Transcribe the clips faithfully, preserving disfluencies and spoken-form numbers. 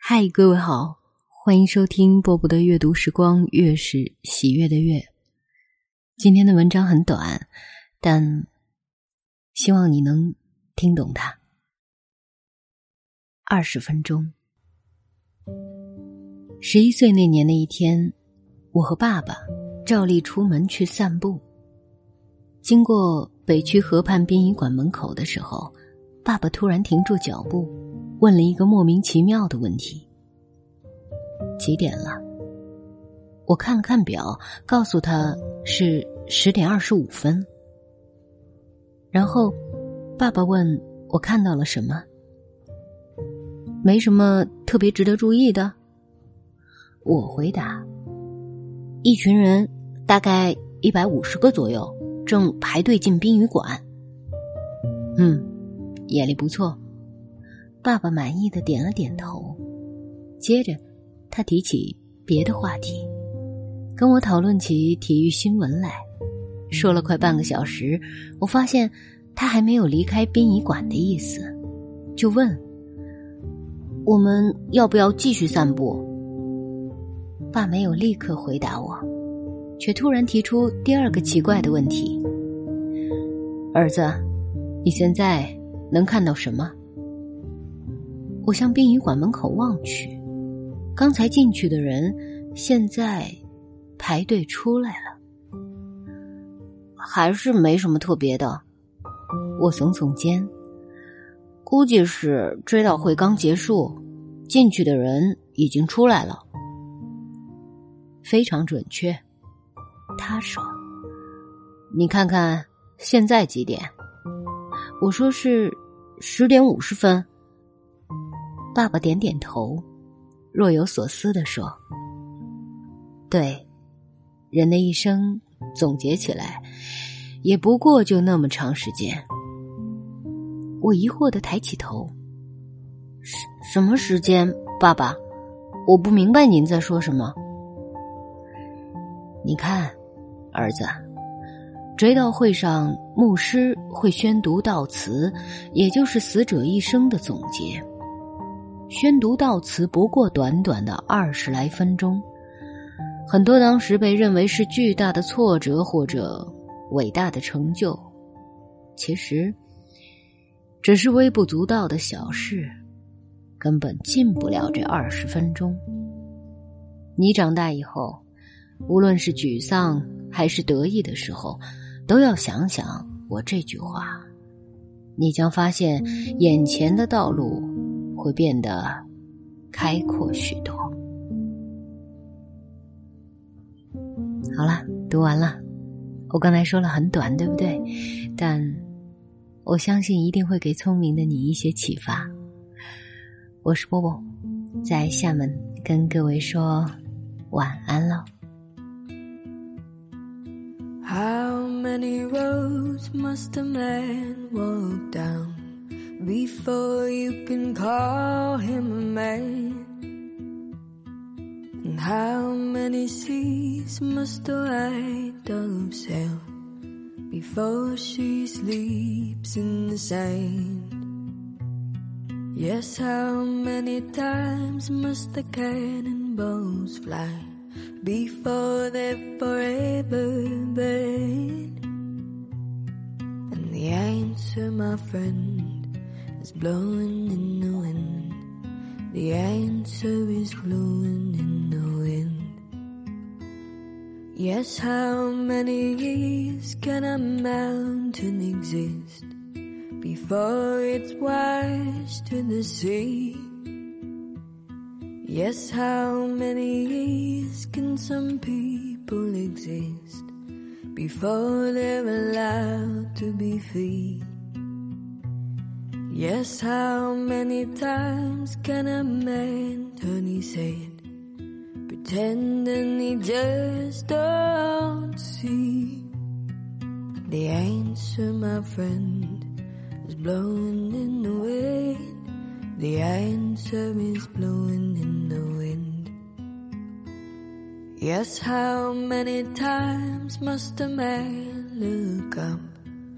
嗨，各位好，欢迎收听波波的阅读时光，月是喜悦的月。今天的文章很短，但希望你能听懂它。二十分钟。十一岁那年的一天，我和爸爸照例出门去散步。经过北区河畔殡仪馆门口的时候，爸爸突然停住脚步，问了一个莫名其妙的问题：几点了？我看了看表，告诉他是十点二十五分。然后爸爸问我看到了什么。没什么特别值得注意的。我回答，一群人大概一百五十个左右，正排队进殡仪馆。嗯，眼力不错。爸爸满意的点了点头。接着他提起别的话题，跟我讨论起体育新闻来。说了快半个小时，我发现他还没有离开殡仪馆的意思，就问我们要不要继续散步。爸没有立刻回答我，却突然提出第二个奇怪的问题：儿子，你现在能看到什么？我向殡仪馆门口望去，刚才进去的人现在排队出来了。还是没什么特别的。我耸耸肩，估计是追悼会刚结束，进去的人已经出来了。非常准确，他说。你看看现在几点？我说是十点五十分。爸爸点点头，若有所思地说，对，人的一生总结起来也不过就那么长时间。我疑惑地抬起头，什什么时间，爸爸？我不明白您在说什么。你看，儿子，追悼会上牧师会宣读悼词，也就是死者一生的总结。宣读悼词不过短短的二十来分钟，很多当时被认为是巨大的挫折或者伟大的成就，其实只是微不足道的小事，根本进不了这二十分钟。你长大以后，无论是沮丧还是得意的时候，都要想想我这句话，你将发现眼前的道路会变得开阔许多。好了，读完了。我刚才说了很短，对不对？但我相信一定会给聪明的你一些启发。我是波波，在厦门跟各位说晚安了。 How many roads must a man walk down before you can call him a man? And how many seas must a white dove sail before she sleeps in the sand? Yes, how many times must the cannonballs fly before they're forever buried? And the answer, my friend, is blowing in the wind. The answer is blowing in the wind. Yes, how many years can a mountain exist before it's washed to the sea? Yes, how many years can some people exist before they're allowed to be free? Yes, how many times can a man turn his head, pretending he just don't see? The answer, my friend, is blowing in the wind. The answer is blowing in the wind. Yes, how many times must a man look up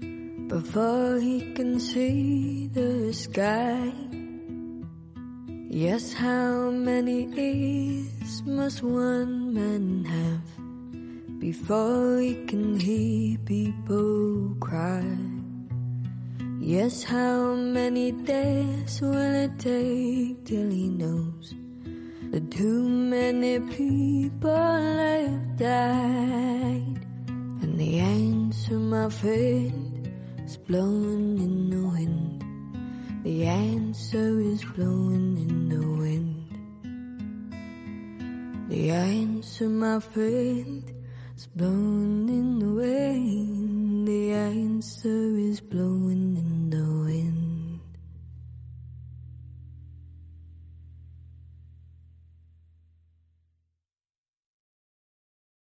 before he can see the sky? Yes, how many ears must one man have before he can hear people cry? Yes, how many days will it take till he knows that too many people have died? And the answer, my friend, is blowing in the wind. The answer is blowing in the wind. The answer, my friend, is blowing in the wind. The answer is blowing